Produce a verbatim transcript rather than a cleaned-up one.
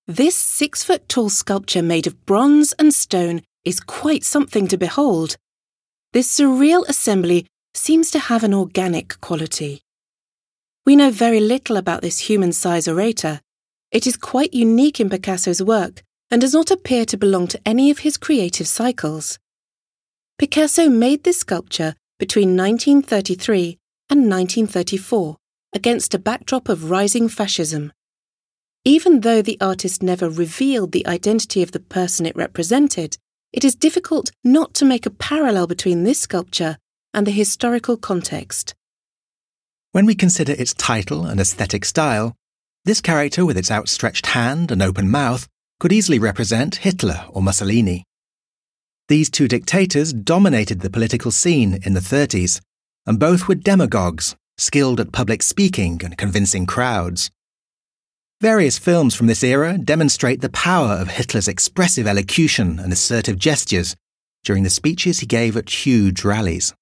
This six-foot-tall sculpture made of bronze and stone is quite something to behold. This surreal assembly seems to have an organic quality. We know very little about this human-size orator. It is quite unique in Picasso's work and does not appear to belong to any of his creative cycles. Picasso made this sculpture between nineteen thirty-three and nineteen thirty-four against a backdrop of rising fascism. Even though the artist never revealed the identity of the person it represented, it is difficult not to make a parallel between this sculpture and the historical context. When we consider its title and aesthetic style, this character with its outstretched hand and open mouth could easily represent Hitler or Mussolini. These two dictators dominated the political scene in the thirties, and both were demagogues, skilled at public speaking and convincing crowds. Various films from this era demonstrate the power of Hitler's expressive elocution and assertive gestures during the speeches he gave at huge rallies.